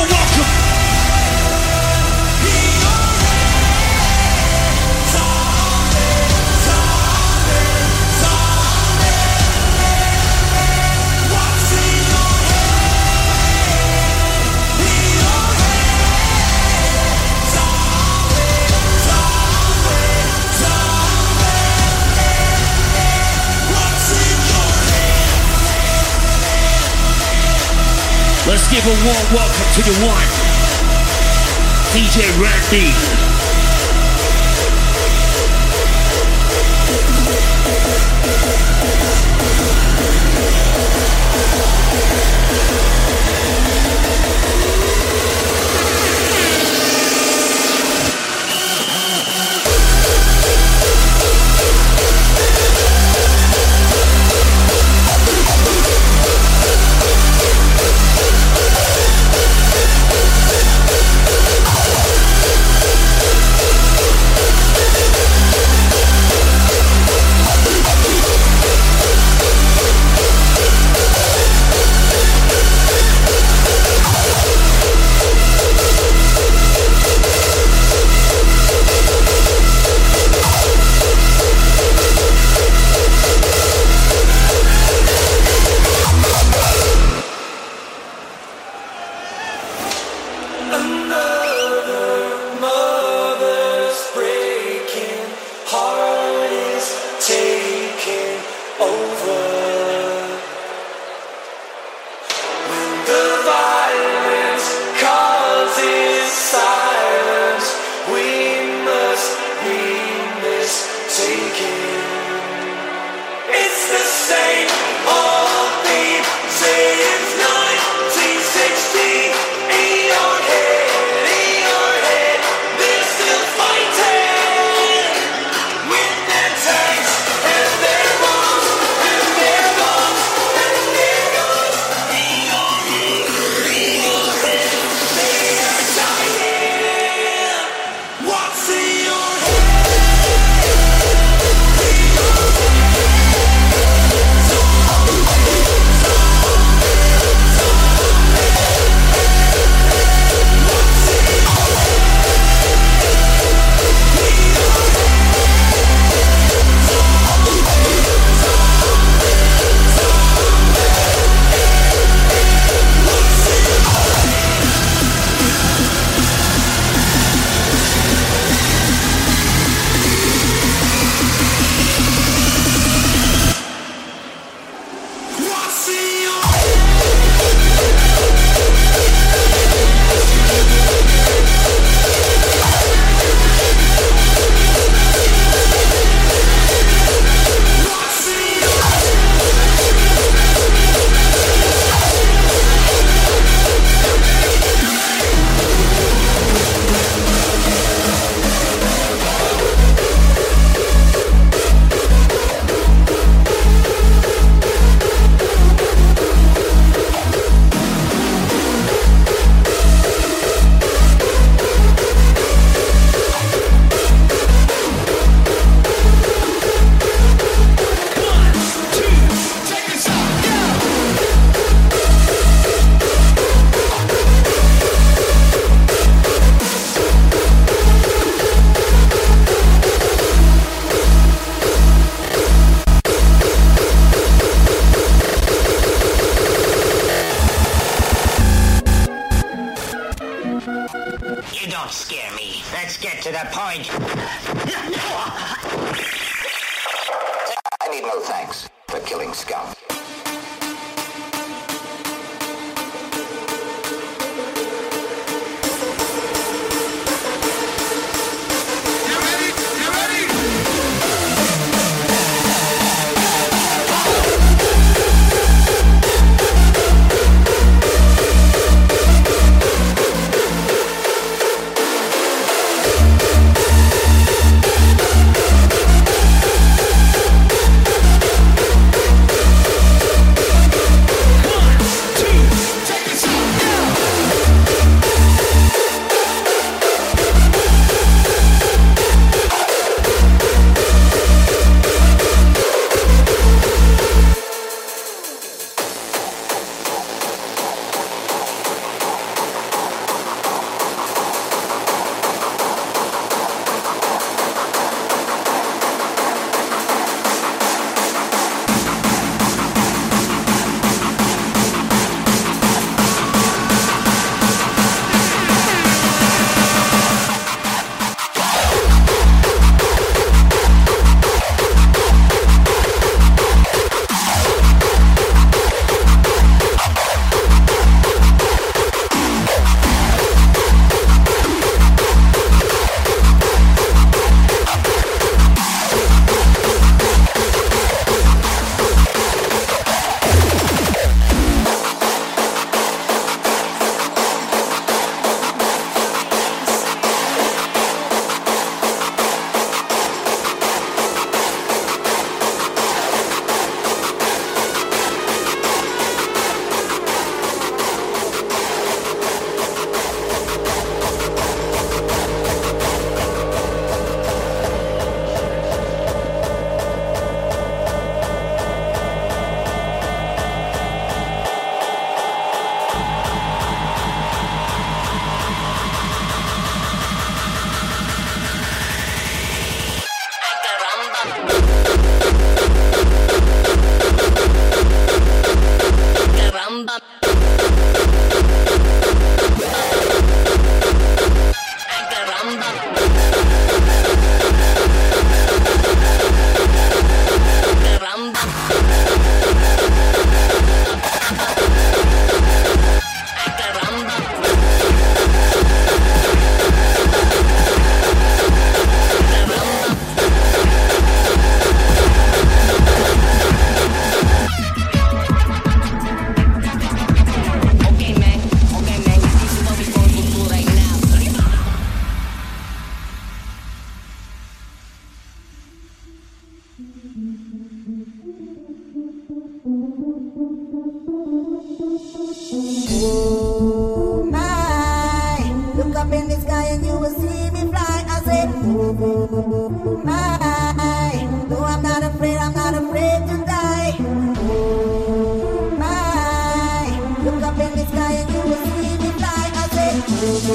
warm welcome. Let's give a warm welcome to the one, DJ Randy.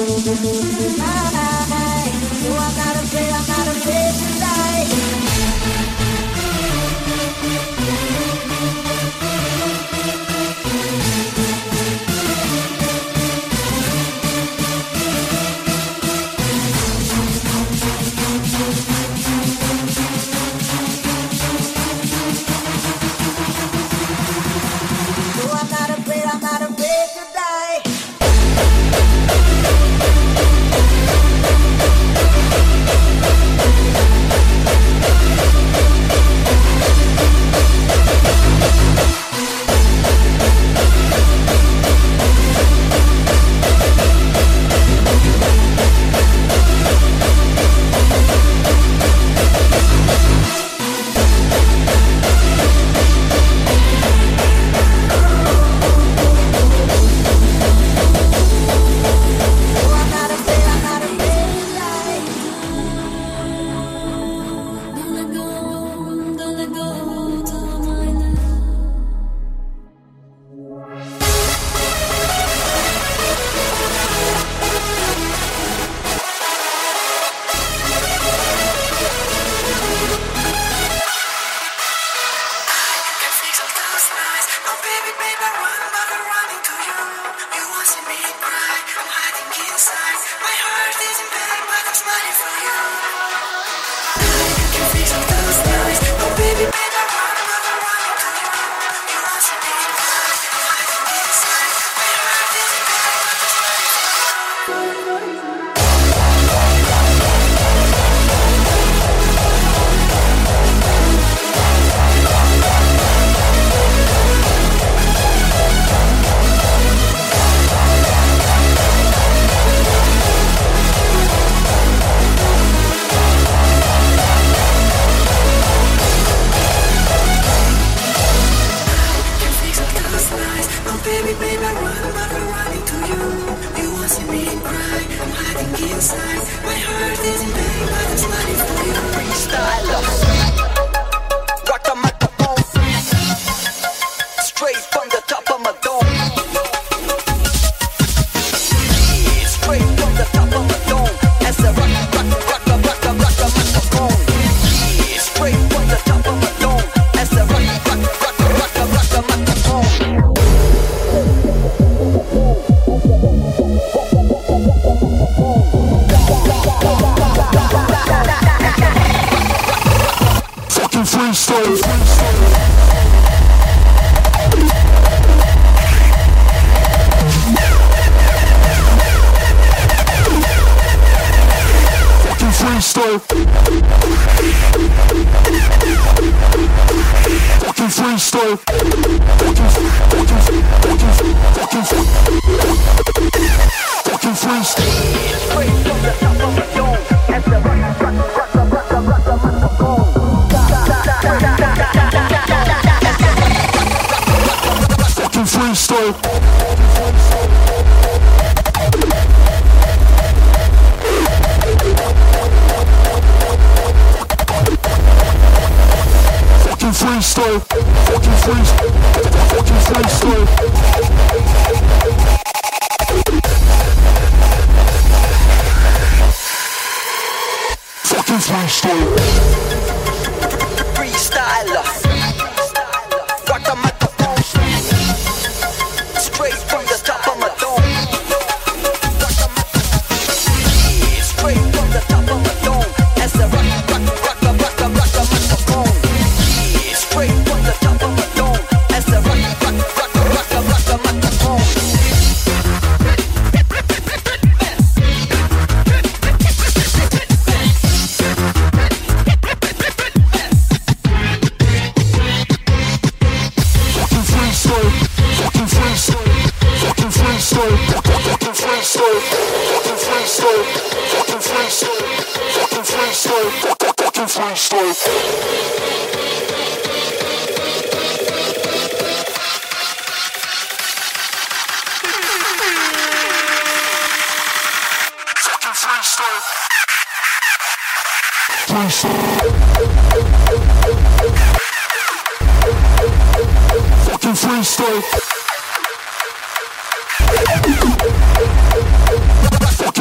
Fucking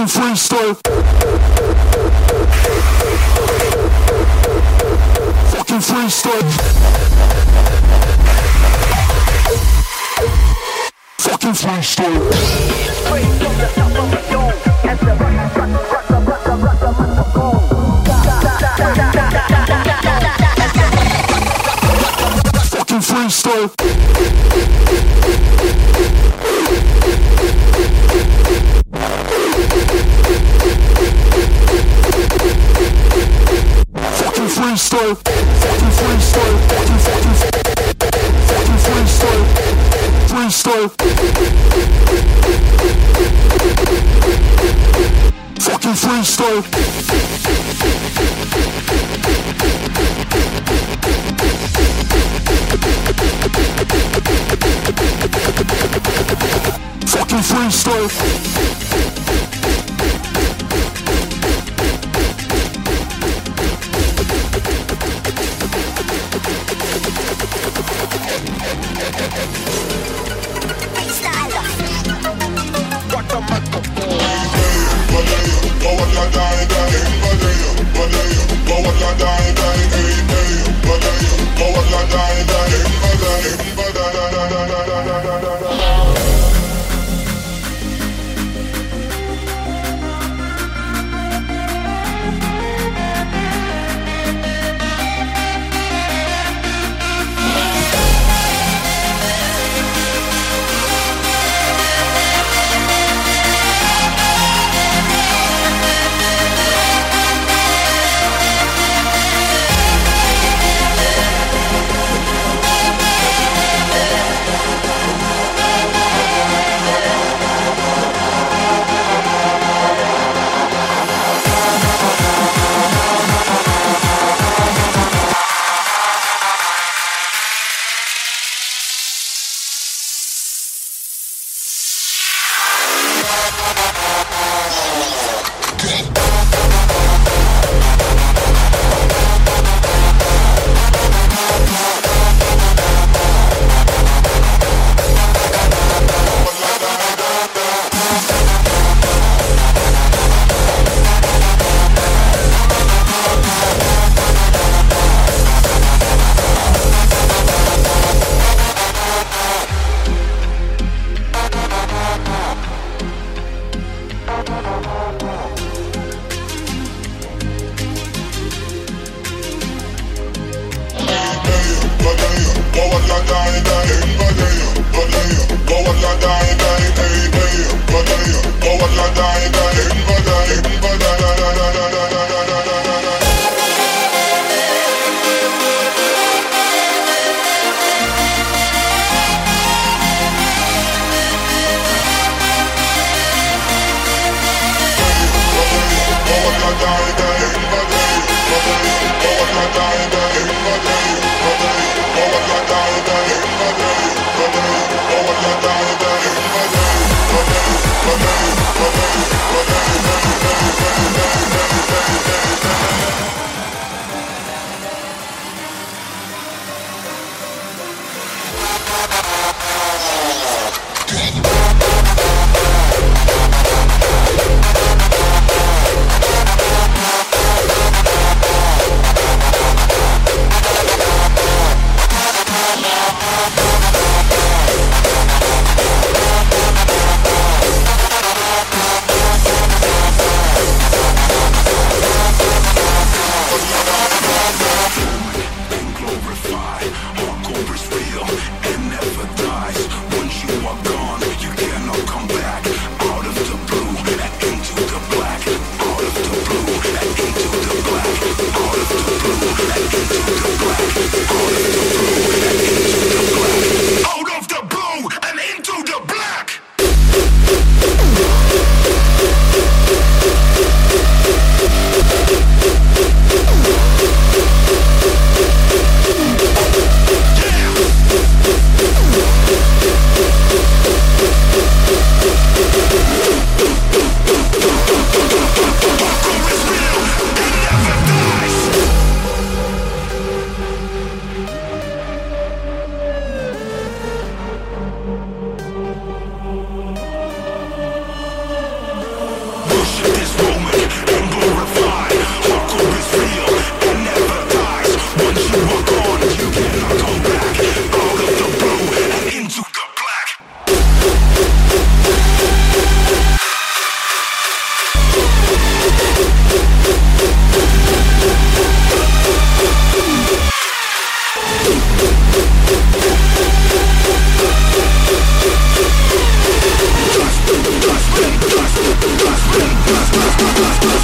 Fucking freestyle. Fucking freestyle. Fucking freestyle. Straight from the top of the dome, as the rock microphone. Fucking freestyle. Fucking freestyle. Fucking freestyle. Fucking freestyle. Freestyle. Fucking freestyle. Fucking freestyle.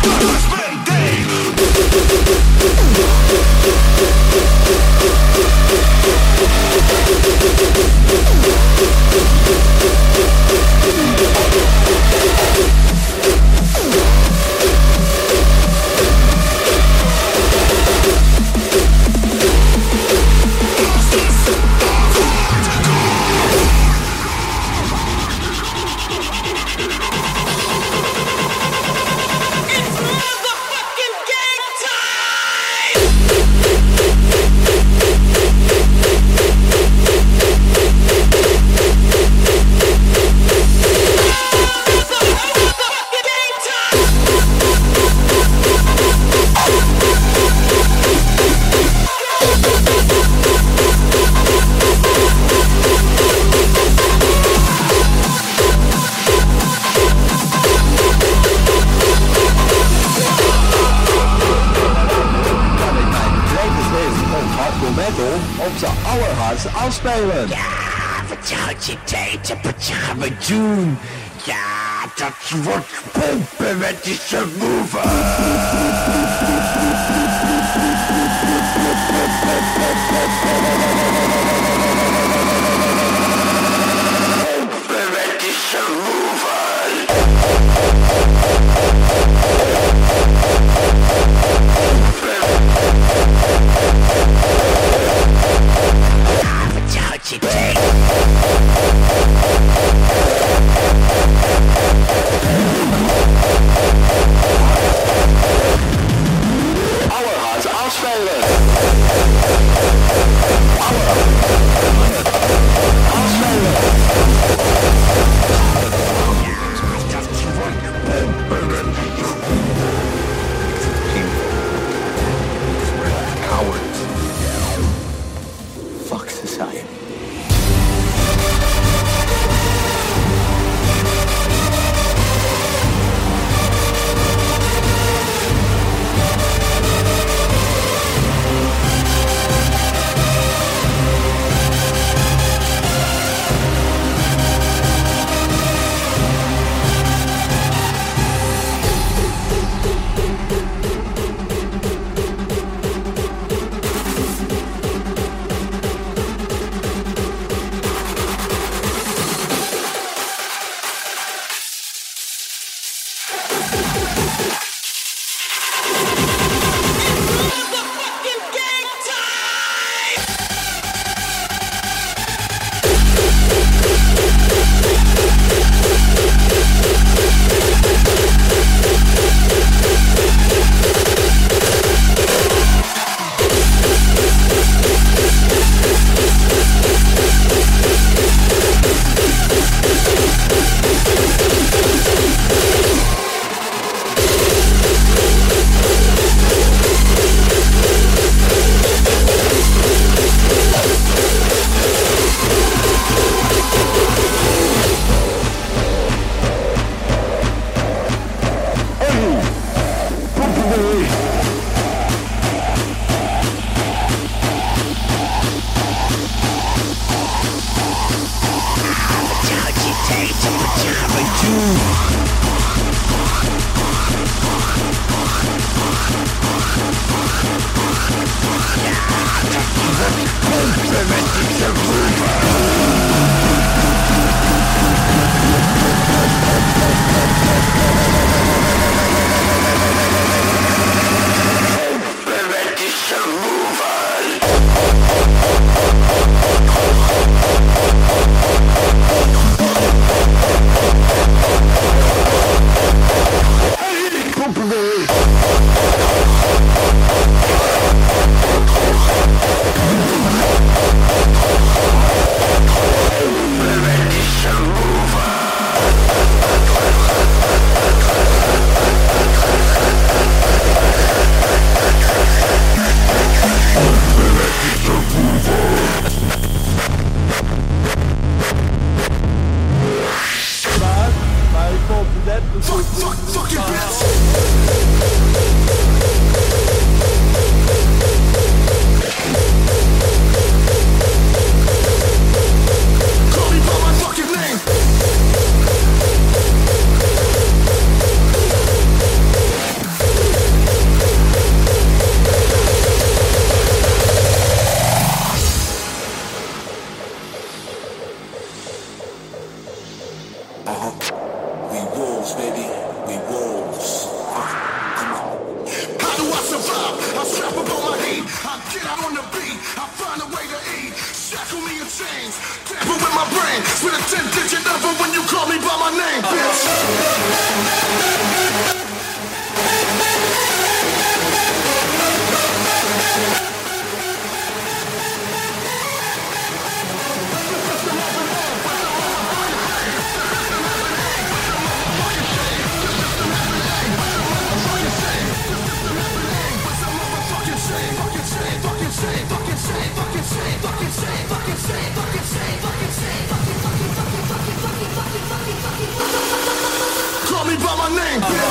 Op de allerhardste afspelen. Ja, vertrouwt je tijd op wat je gaan we doen. Ja, dat wordt pompen met die subwoofer. Pompen met die subwoofer. Ja, vertrouwt je tijd. Allerhardste afspelen.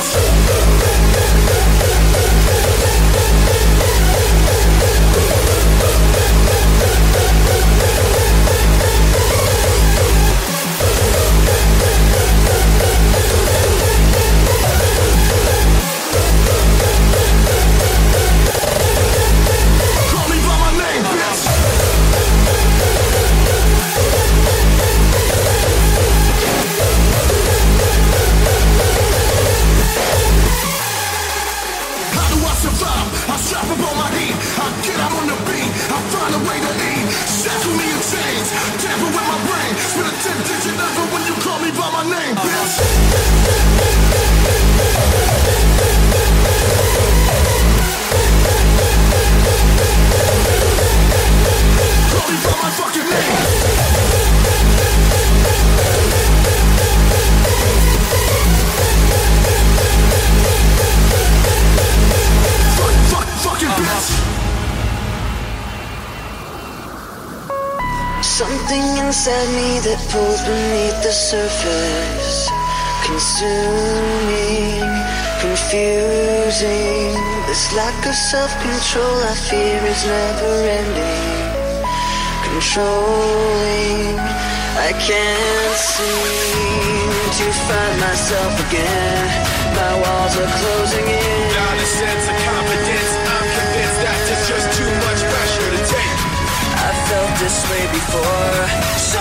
Something inside me that pulls beneath the surface, consuming, confusing. This lack of self-control I fear is never ending. Controlling, I can't seem to find myself again. My walls are closing in. Not a sense of confidence, I'm convinced that there's just too much pressure to take. I felt this way before, so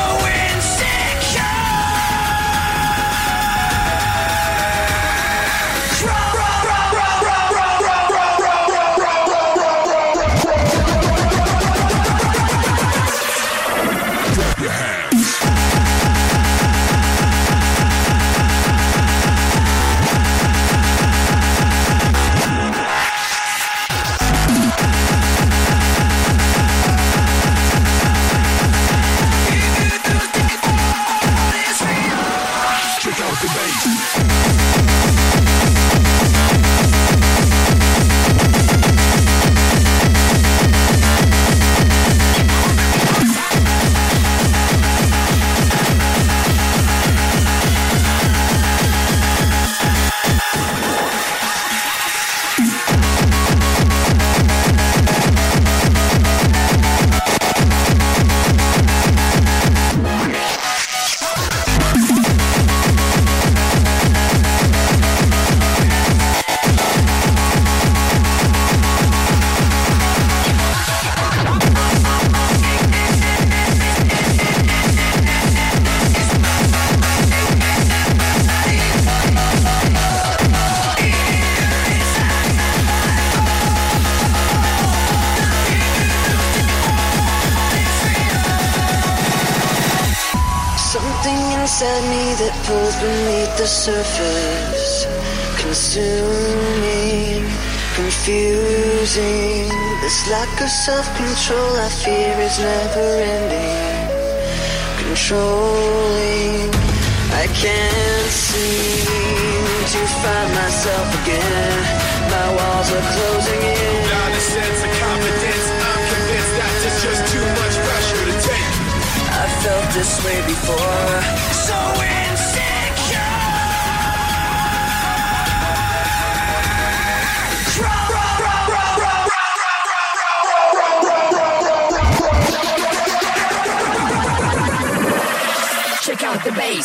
inside me that pulls beneath the surface, consuming, confusing. This lack of self-control I fear is never ending. Controlling, I can't seem to find myself again. My walls are closing in. Not a sense of confidence, I'm convinced that there's just too much pressure to take. I felt this way before, so insecure. Check out the bass.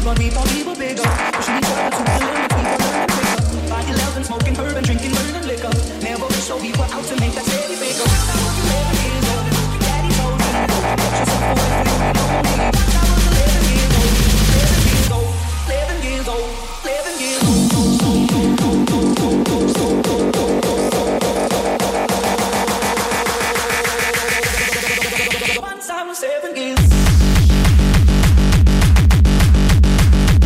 but we thought we were bigger. Pushing each other to the limit, we were learning quicker. By 11, smoking herb and drinking burning liquor. Never so we were out to make that steady figure. 11 years old, daddy told me, get yourself away from your lonely. I was 11 years old, 11 years old, 11 years old, 11 years old. Once I was 7 years.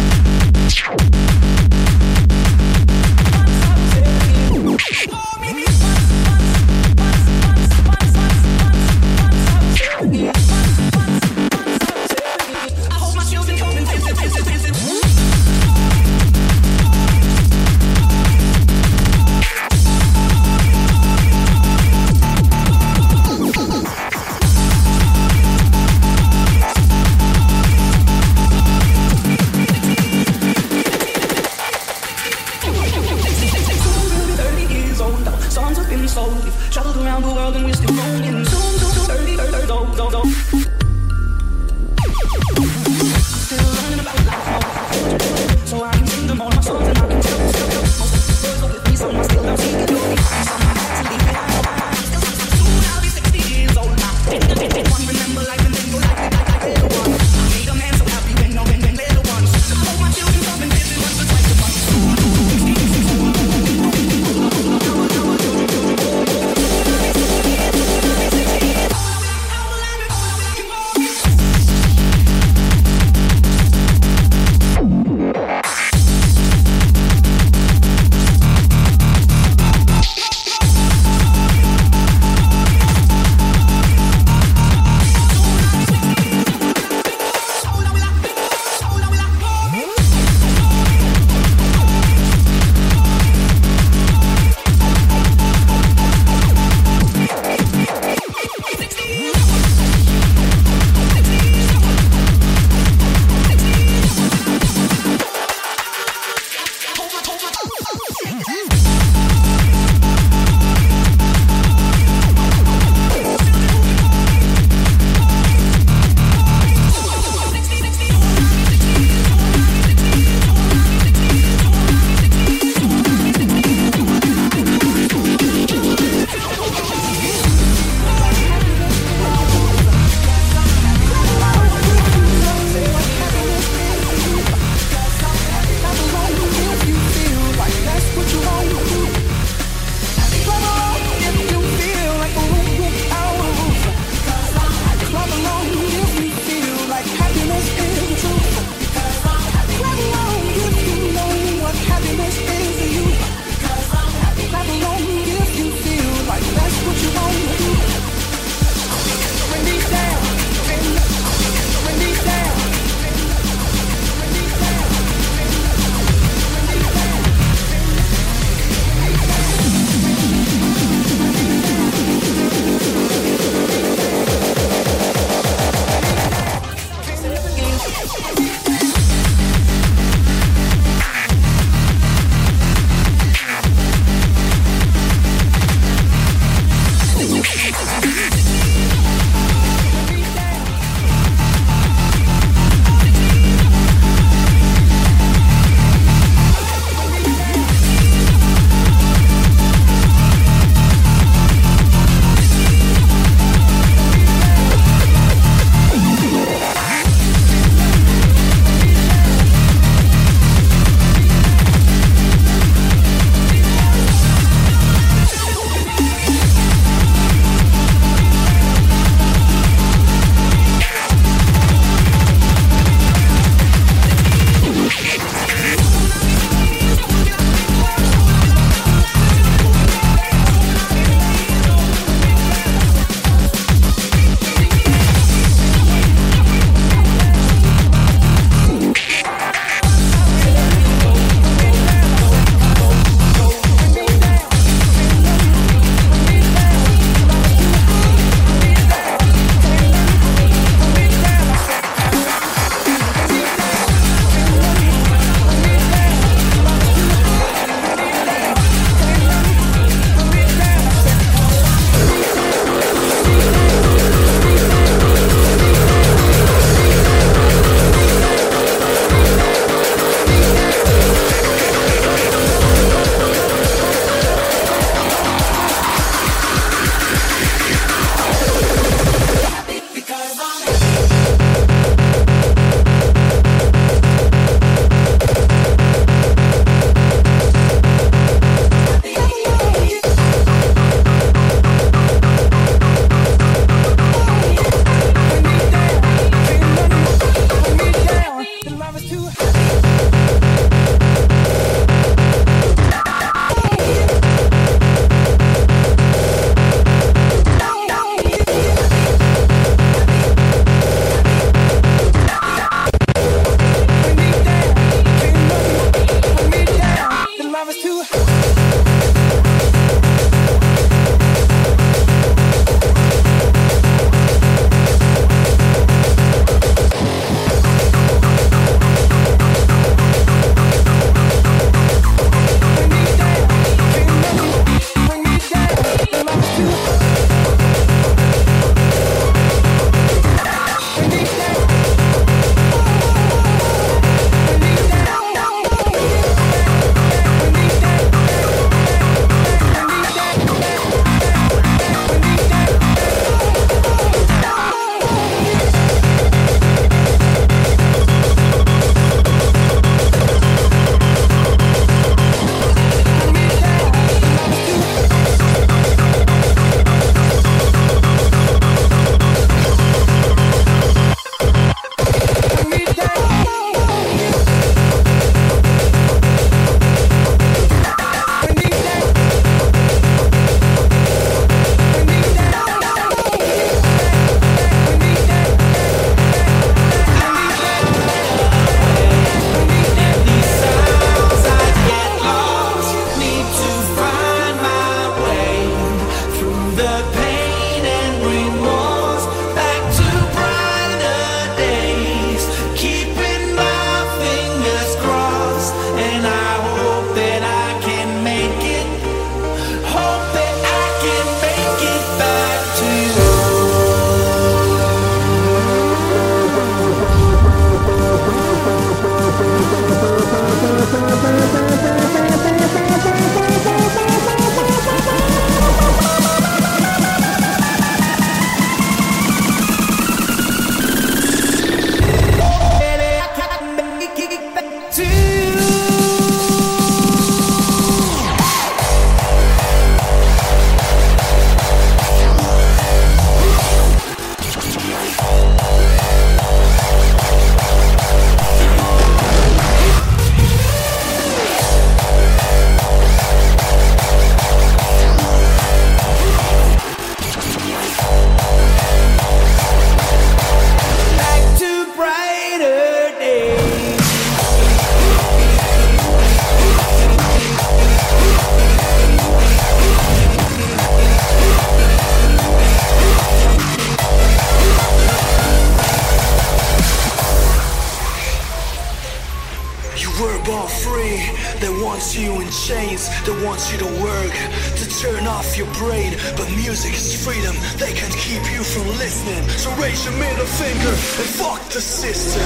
free. They want you in chains, they want you to work, to turn off your brain. But music is freedom, they can't keep you from listening. So raise your middle finger and fuck the system.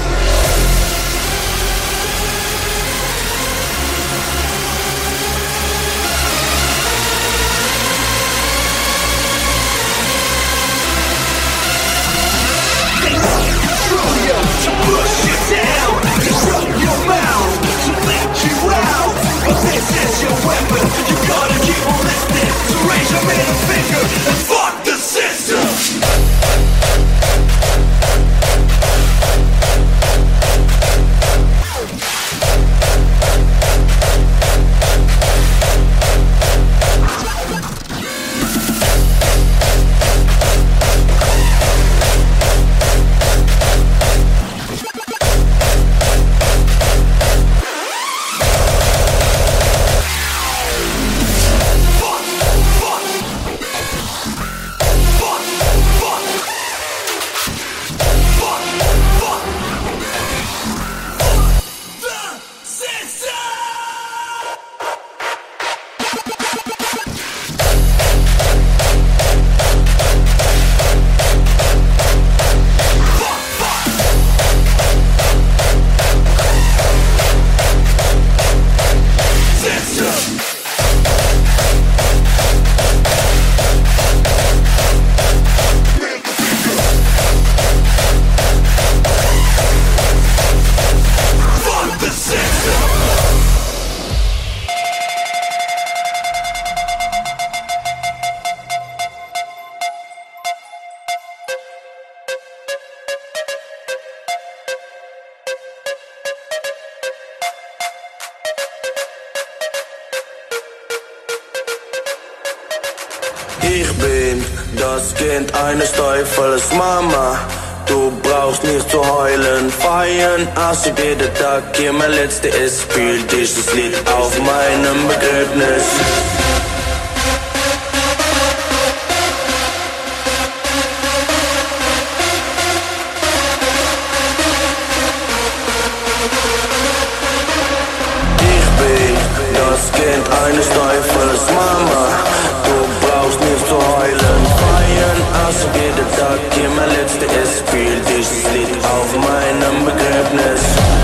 To push you down, to run your mouth, to let you out. But this is your weapon, you gotta keep on listening. So raise your middle finger and fuck the system. Ich bin das Kind eines Teufels, Mama. Du brauchst nicht zu heulen, feiern, als ob jeder Tag hier mein letzter ist. Spiel dieses Lied auf meinem Begräbnis. Ich bin das Kind eines Teufels, Mama. Du brauchst nicht zu heulen, feiern, als ob jeder Tag hier mein letzter ist. Spiel dieses Lied auf meinem Begräbnis.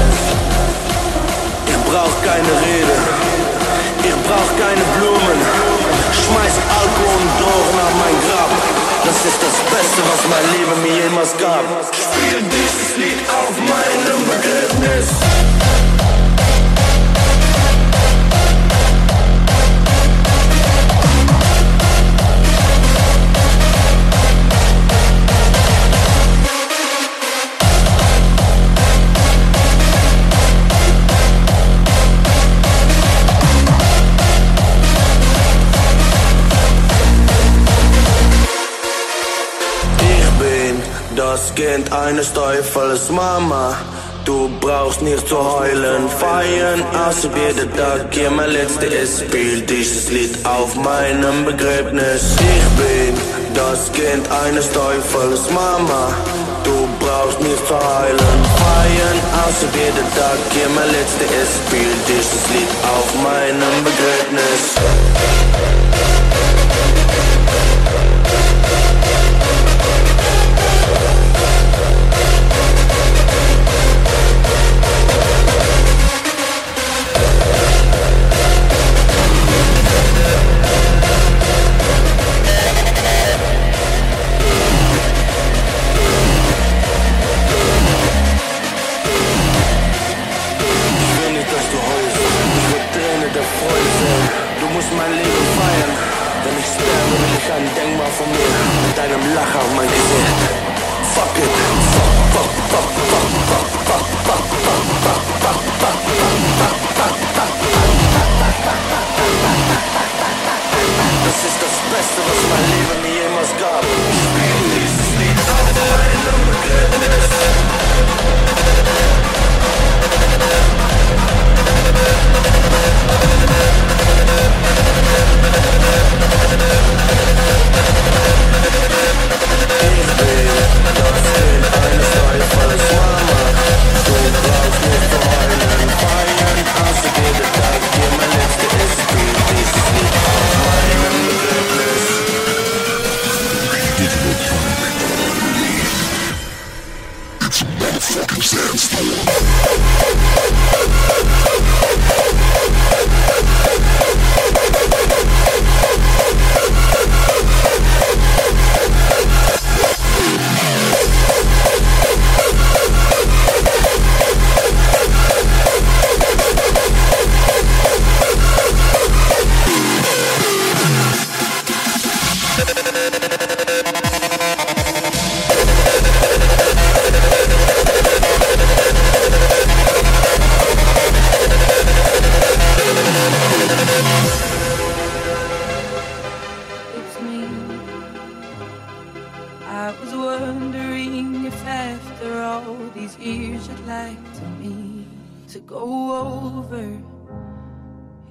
Ich brauch keine Rede, ich brauch keine Blumen. Schmeiß Alkohol und Drogen auf mein Grab. Das ist das Beste, was mein Leben mir jemals gab. Spiel dieses Lied auf meinem Begräbnis. Das Kind eines Teufels, Mama. Du brauchst nicht zu heulen, feiern, als ob jeder Tag hier mein letzter ist. Spiel dieses Lied auf meinem Begräbnis. Ich bin das Kind eines Teufels, Mama. Du brauchst nicht zu heulen, feiern, als ob jeder Tag hier mein letzter ist. Spiel dieses Lied auf meinem Begräbnis. Mein Leben feiern, wenn ich sterbe, will ich ein Denkmal von mir mit deinem Lacher auf mein Gesicht. Fuck it, fuck, fuck, fuck, fuck, fuck, fuck, fuck, fuck, fuck, fuck, fuck, fuck, fuck. Das ist das Beste, was mein Leben mir jemals gab. Spiel dieses Lied auf meinem Begräbnis. Eines Teufels, Mama. Du brauchst nicht zu heulen, feiern, als ob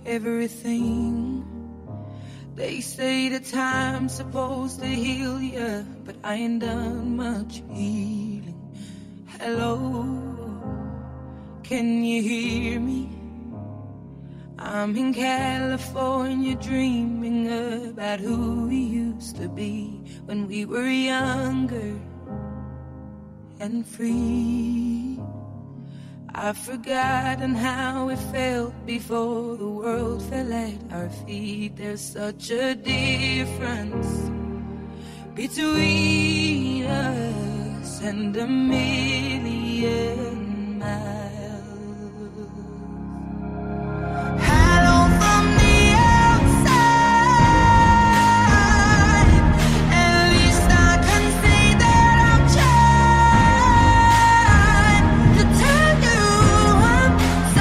everything. They say the time's supposed to heal ya, but I ain't done much healing. Hello, can you hear me? I'm in California dreaming about who we used to be when we were younger and free. I've forgotten how it felt before the world fell at our feet. There's such a difference between us and a million miles. Hello from the outside. At least I can say that I've tried to tell you I'm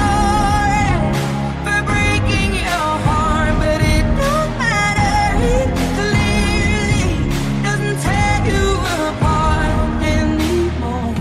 sorry for breaking your heart, but it don't matter. It clearly doesn't tear you apart anymore.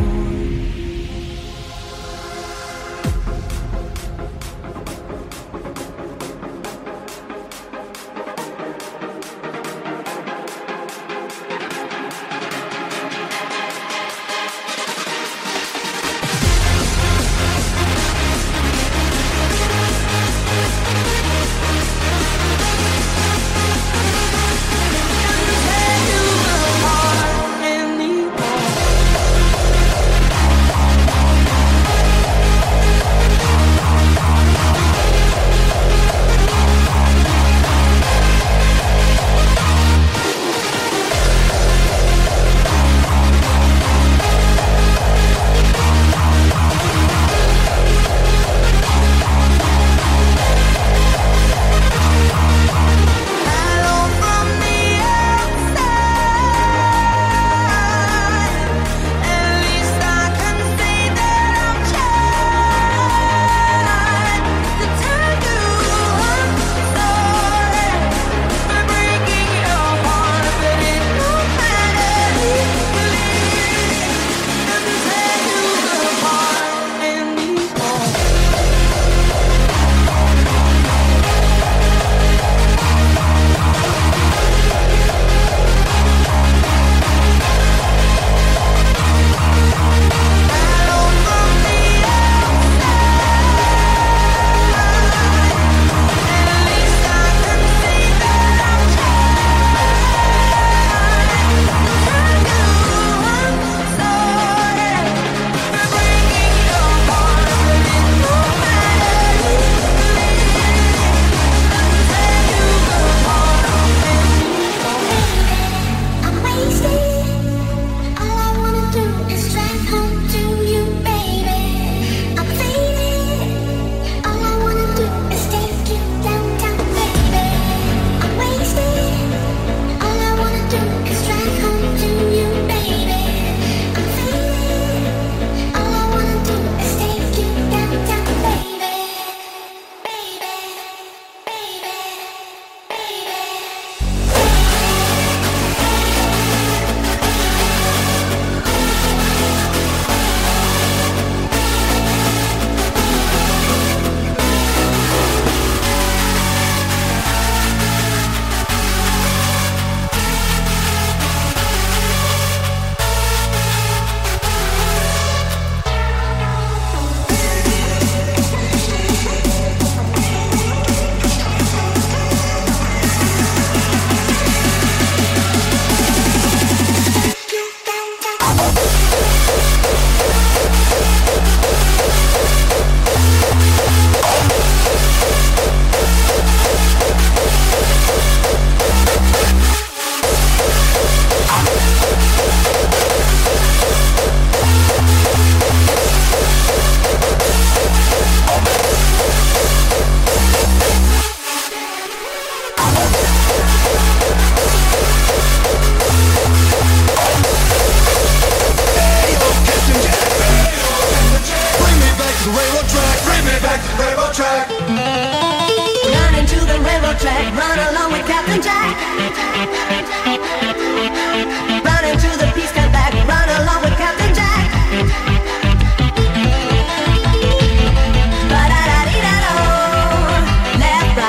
Left,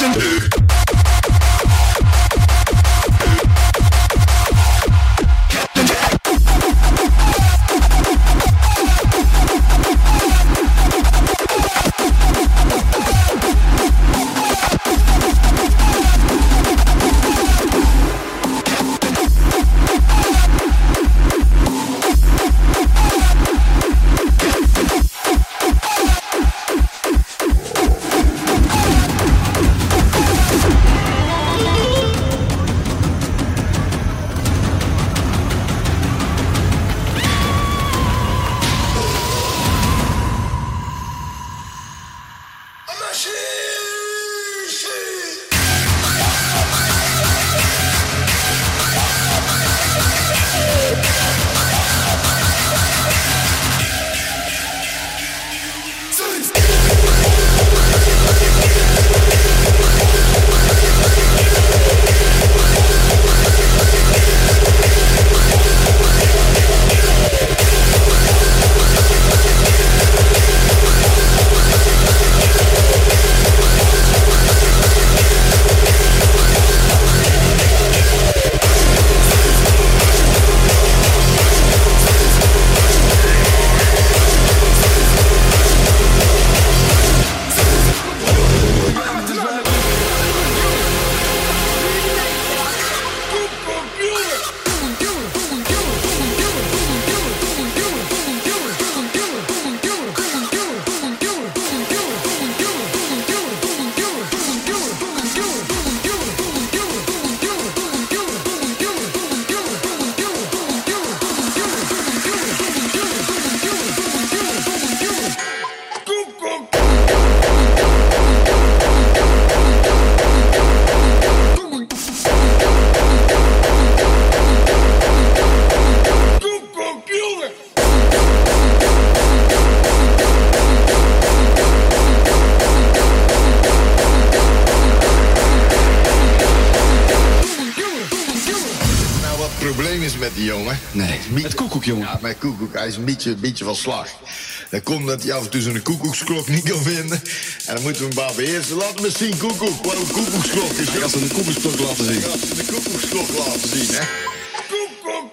met die jongen. Nee, met Koekoek, jongen. Ja, met Koekoek. Hij is een beetje van slag. Dat komt dat hij af en toe zo'n koekoeksklok niet kan vinden. En dan moeten we hem maar beheersen. Laat me zien, Koekoek. Wat een koekoeksklok is. Hij gaat ze een koekoeksklok laten zien. Hij gaat ze een koekoeksklok laten zien, hè. Koekoek!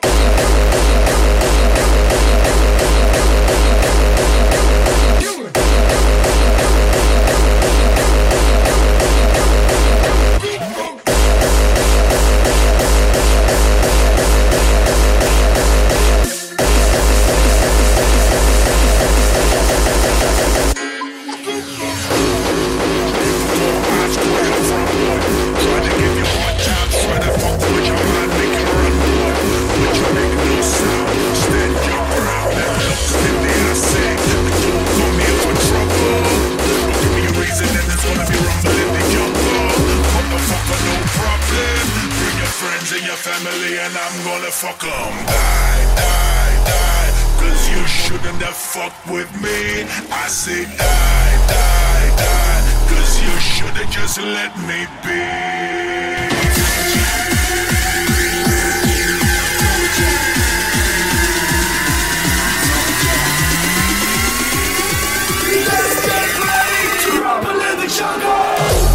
Family and I'm gonna fuck 'em. Die, die, die. Cause you shouldn't have fucked with me. I say die, die, die. Cause you should have just let me be. Let's get ready to rumble in the jungle.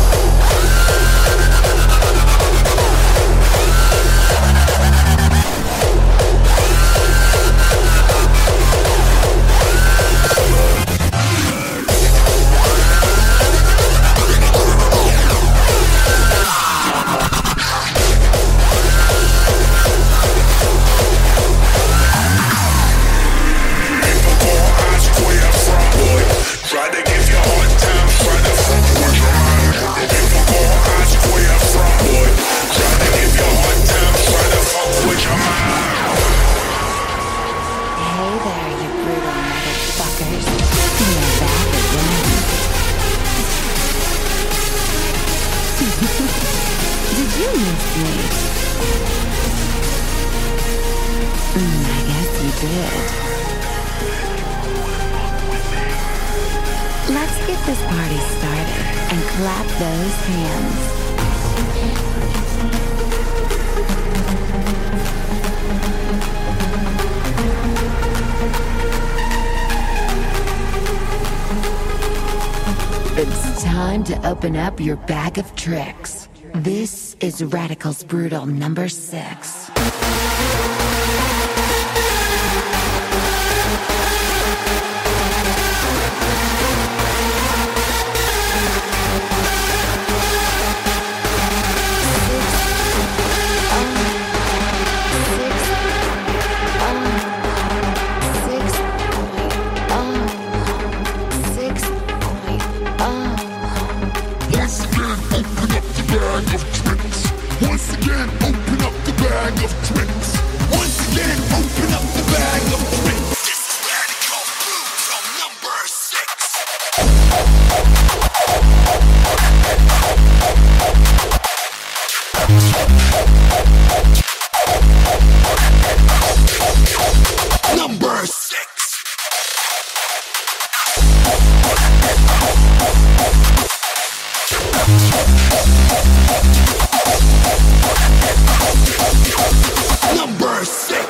Let's get this party started and clap those hands. It's time time to open up your bag of tricks. This is Radicals Brutal number 6. Once again, open up the bag of tricks. Once again, open up the bag of tricks. This is Radical Brutal number 6. Number 6. Number 6.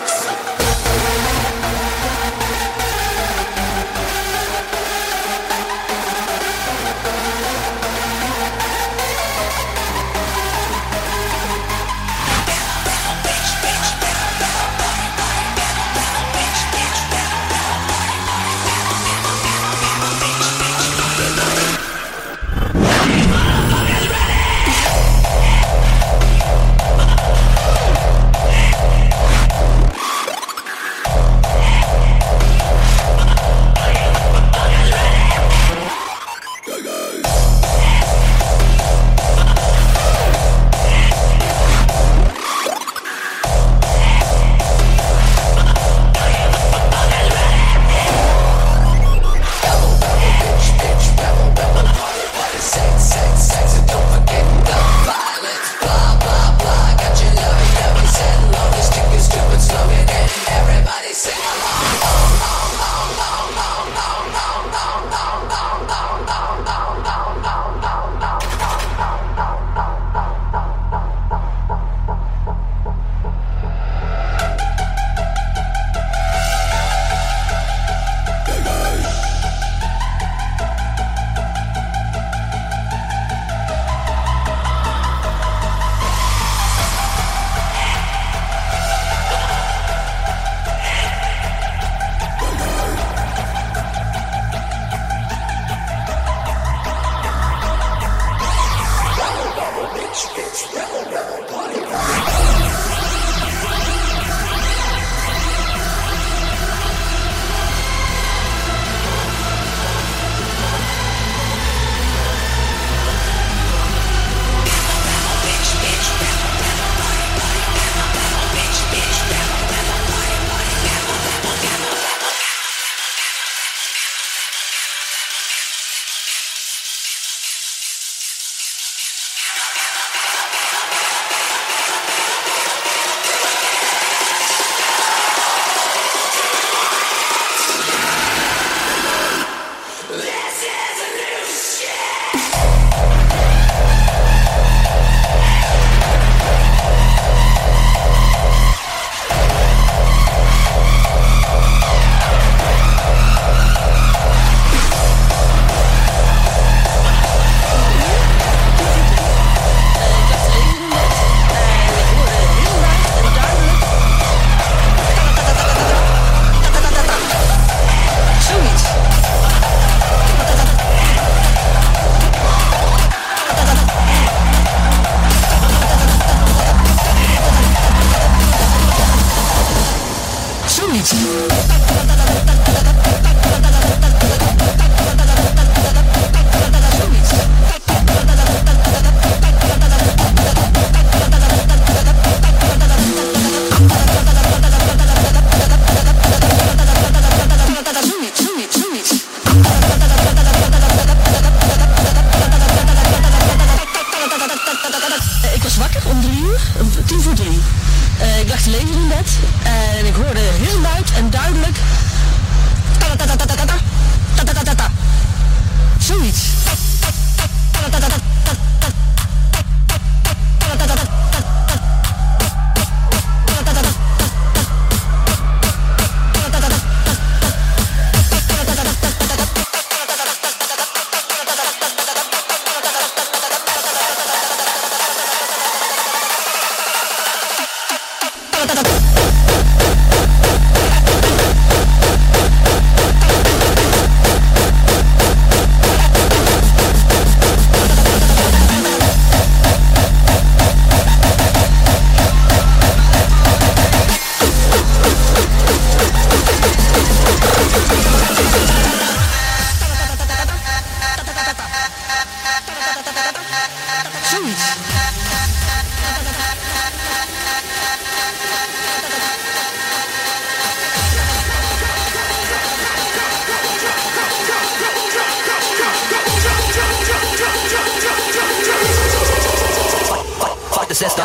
sister.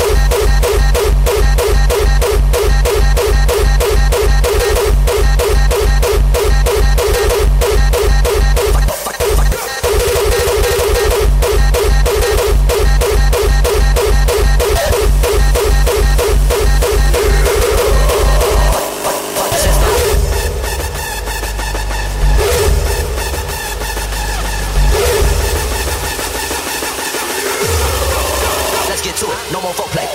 No more folk play.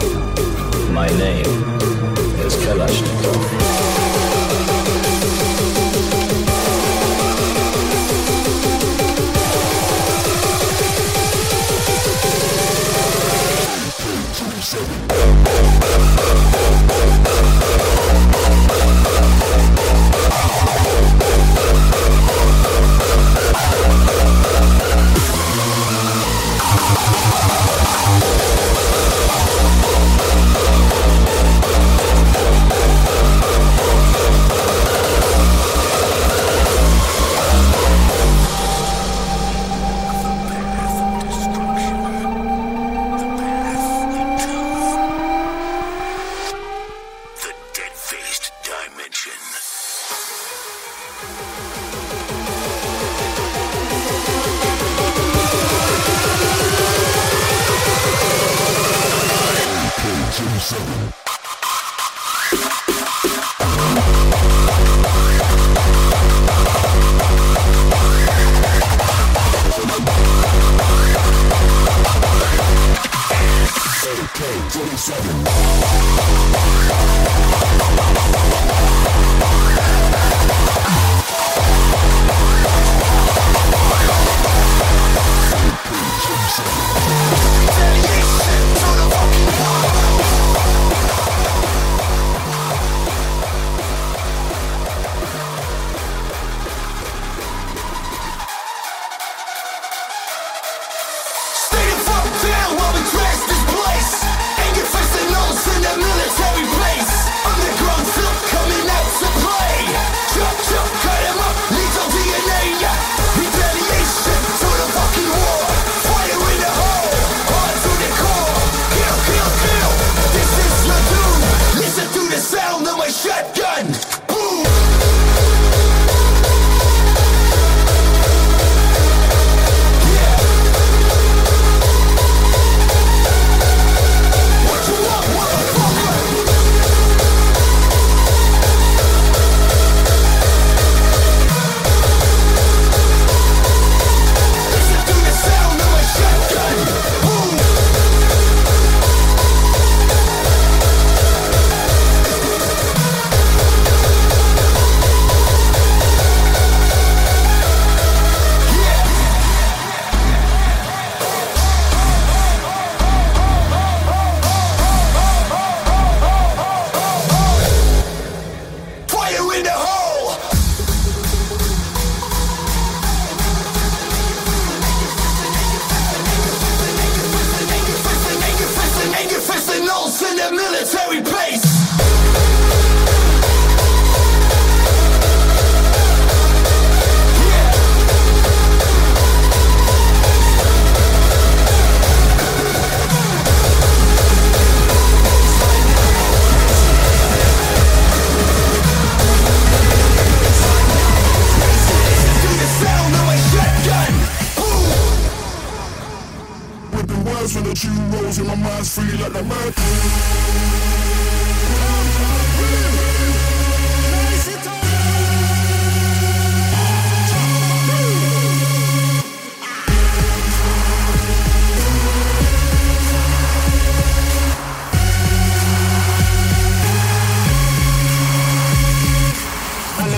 My name is Kalashnikov.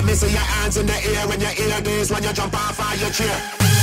Let me see your hands in the air when you hear this, when you jump off of your chair.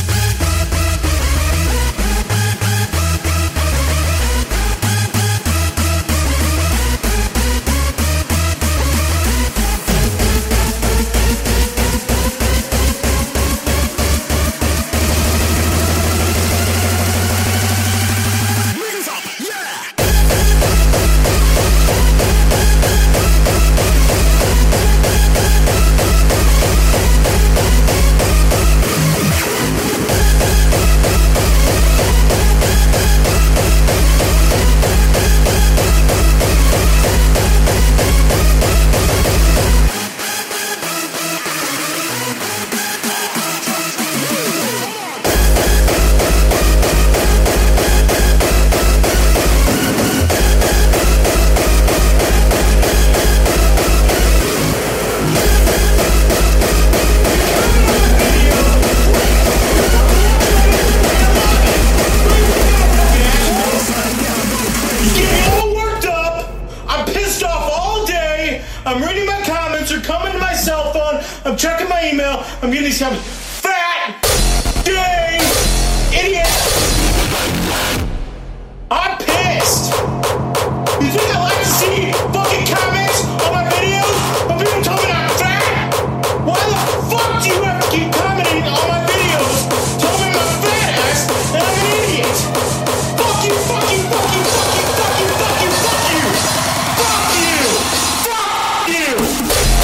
I'm reading my comments, they're coming to my cell phone, I'm checking my email, I'm getting these comments. Fat, gay, idiot. I'm pissed. You think I like to see fucking comments on my videos of people telling me I'm fat? Why the fuck do you have to keep commenting on my videos telling me I'm fat ass and I'm an idiot? Fuck you, fuck you, fuck you, fuck you, fuck you, fuck you, fuck you. Fuck you. Fuck you.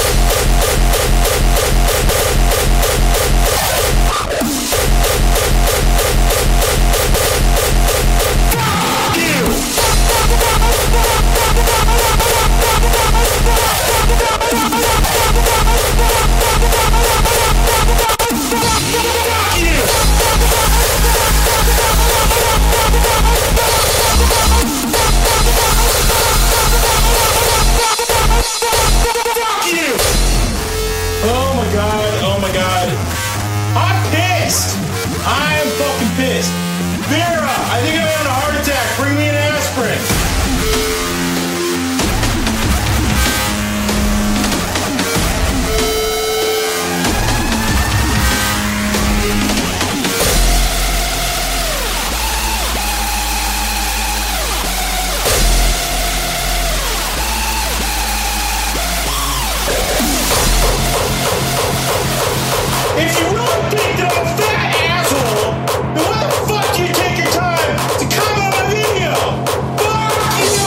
Oh my god. I'm pissed. I'm fucking pissed. Vera, I think I had a heart attack. Bring me an aspirin. If you really think that I'm a fat asshole, then why the fuck do you take your time to comment on my video? Fuck you!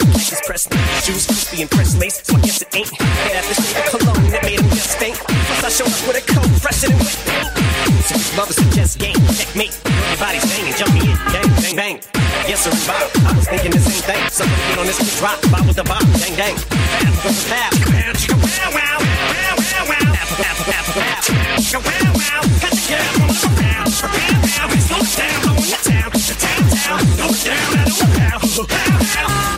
Cactus pressed shoes, crispy and pressed lace. So I guess it ain't made after shade of cologne that made him just stink. Plus I showed up with a coat fresher than wet paint. So his mother suggests game, checkmate. Everybody's banging, jump me in, bang, bang, bang. Yes sir, Bob. I was thinking the same thing. Something get on this quick drop, Bob with the Bob, dang, dang. Pap, wow, wow, wow, wow, wow. Apple, apple, apple, apple. Wow, wow, cut the girl on the ground. Wow, we slow it down, low in the town, slow it down, I don't know how.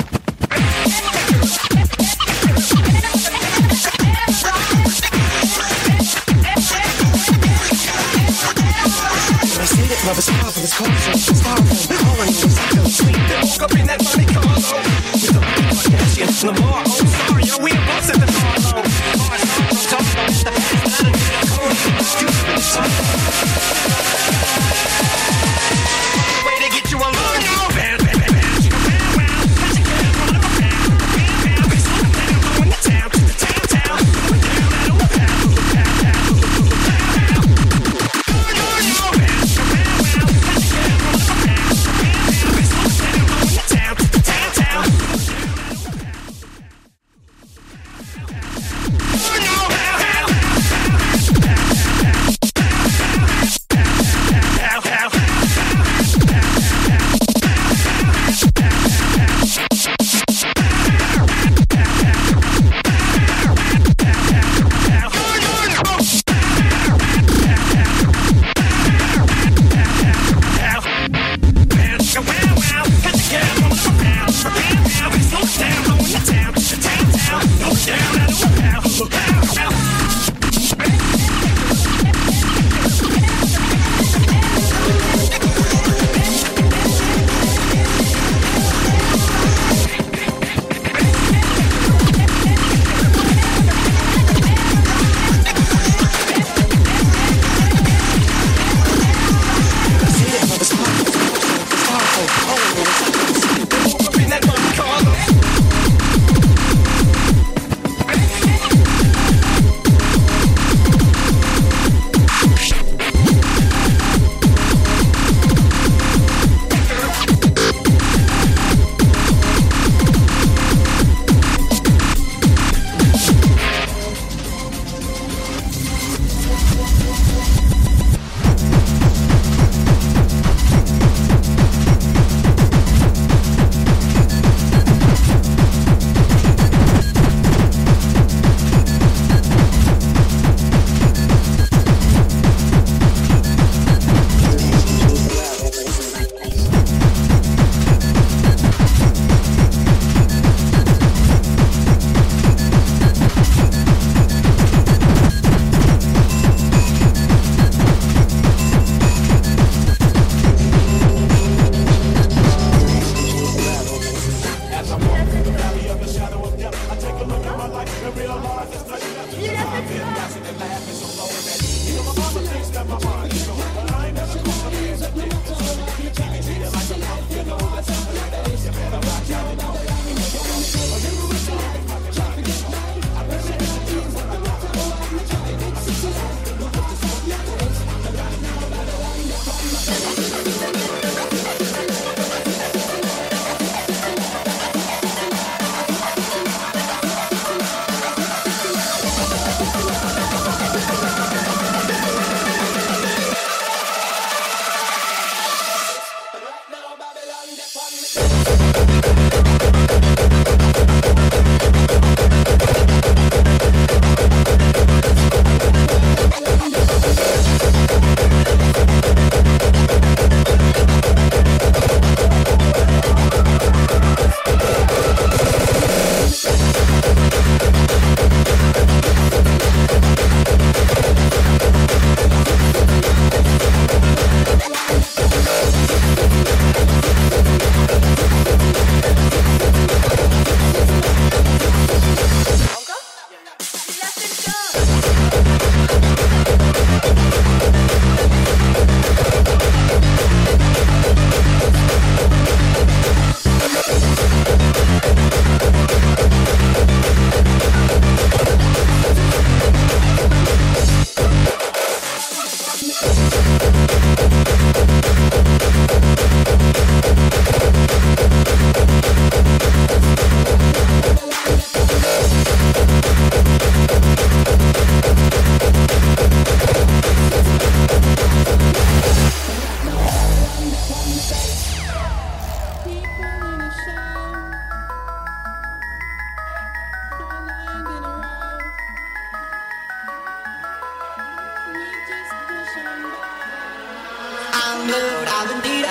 Love is powerful, it's colorful, it's powerful. All I need is I feel sweet. Woke up in that Monte Carlo with a Kardashian Lamar. Oh, sorry, yo, we both at the Harlow. Hard song, I'm talking about the past, but I don't get a code. Stupid with the song. Way to get you alone, yo. Bam, bam, bam, bam. Wow, wow. Catch a girl on the ground. Bam, bam. We slow it down, go in the town, to the town, town. We're down at a pow, pow, pow, pow.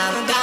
down, down.